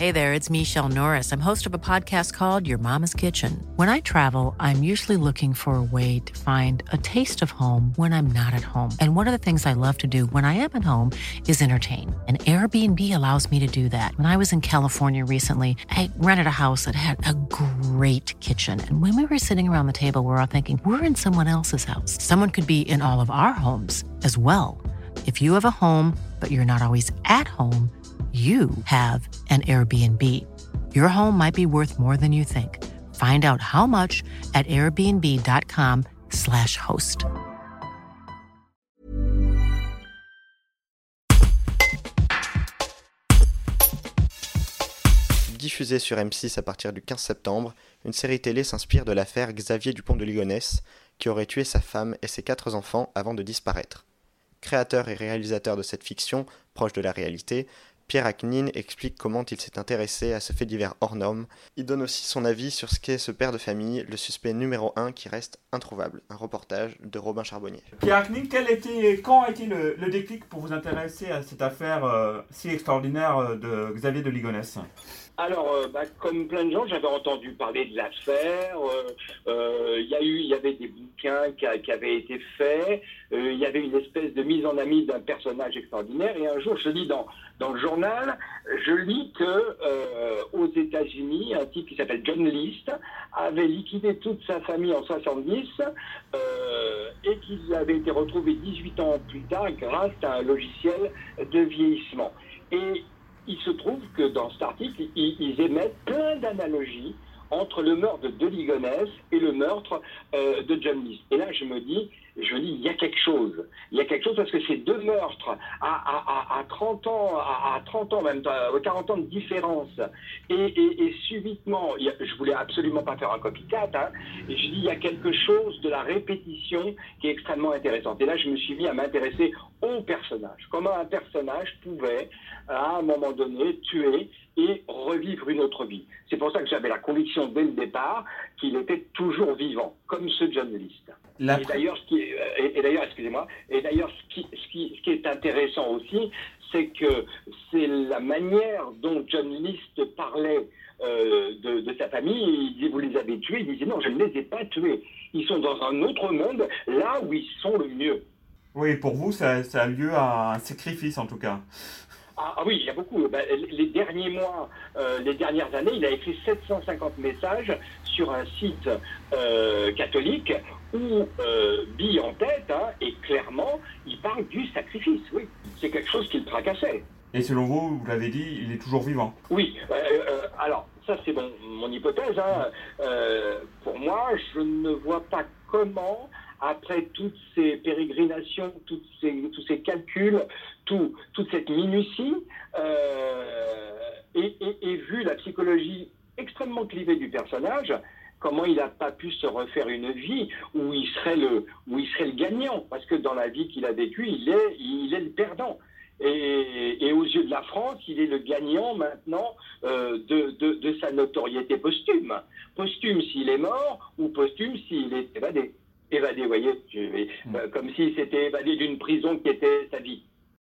Hey there, it's Michelle Norris. I'm host of a podcast called Your Mama's Kitchen. When I travel, I'm usually looking for a way to find a taste of home when I'm not at home. And one of the things I love to do when I am at home is entertain. And Airbnb allows me to do that. When I was in California recently, I rented a house that had a great kitchen. And when we were sitting around the table, we were all thinking, we're in someone else's house. Someone could be in all of our homes as well. If you have a home, but you're not always at home, you have an Airbnb. Your home might be worth more than you think. Find out how much at airbnb.com/host. Diffusée sur M6 à partir du 15 septembre, une série télé s'inspire de l'affaire Xavier Dupont de Ligonnès, qui aurait tué sa femme et ses 4 enfants avant de disparaître. Créateur et réalisateur de cette fiction, proche de la réalité, Pierre Achnine explique comment il s'est intéressé à ce fait divers hors norme. Il donne aussi son avis sur ce qu'est ce père de famille, le suspect numéro 1 qui reste introuvable. Un reportage de Robin Charbonnier. Pierre Achnine, quand a été le déclic pour vous intéresser à cette affaire si extraordinaire de Xavier de Ligonnès ? Alors, comme plein de gens, j'avais entendu parler de l'affaire. Il y avait des bouquins qui avaient été faits. Il y avait une espèce de mise en ami d'un personnage extraordinaire. Et un jour, je lis dans le journal, je lis que aux États-Unis, un type qui s'appelle John List avait liquidé toute sa famille en 70 et qu'il avait été retrouvé 18 ans plus tard grâce à un logiciel de vieillissement. Et il se trouve que dans cet article, ils émettent plein d'analogies entre le meurtre de Ligonnès et le meurtre de John List. Et là, je dis, il y a quelque chose. Il y a quelque chose parce que ces deux meurtres à 30 ans, à 30 ans, même 40 ans de différence, et subitement, je voulais absolument pas faire un copycat, et je dis, il y a quelque chose de la répétition qui est extrêmement intéressante. Et là, je me suis mis à m'intéresser au personnage. Comment un personnage pouvait, à un moment donné, tuer et revivre une autre vie. C'est pour ça que j'avais la conviction dès le départ qu'il était toujours vivant, comme ce John List. Et d'ailleurs, ce qui est intéressant aussi, c'est que c'est la manière dont John List parlait de sa famille. Il disait, vous les avez tués? Il disait, non, je ne les ai pas tués. Ils sont dans un autre monde, là où ils sont le mieux. Oui, pour vous, ça a lieu à un sacrifice en tout cas. Ah oui, il y a beaucoup. Les derniers mois, les dernières années, il a écrit 750 messages sur un site catholique où, bille en tête, et clairement, il parle du sacrifice, oui. C'est quelque chose qui le tracassait. Et selon vous, vous l'avez dit, il est toujours vivant. Oui, alors, ça c'est mon hypothèse. Pour moi, je ne vois pas comment, après toutes ces pérégrinations, tous ces calculs, toute cette minutie, et vu la psychologie extrêmement clivée du personnage, comment il n'a pas pu se refaire une vie où il serait le gagnant, parce que dans la vie qu'il a vécue, il est le perdant. Et aux yeux de la France, il est le gagnant maintenant de sa notoriété posthume. Posthume s'il est mort, ou posthume s'il est évadé. Évadé, vous voyez, comme s'il s'était évadé d'une prison qui était sa vie.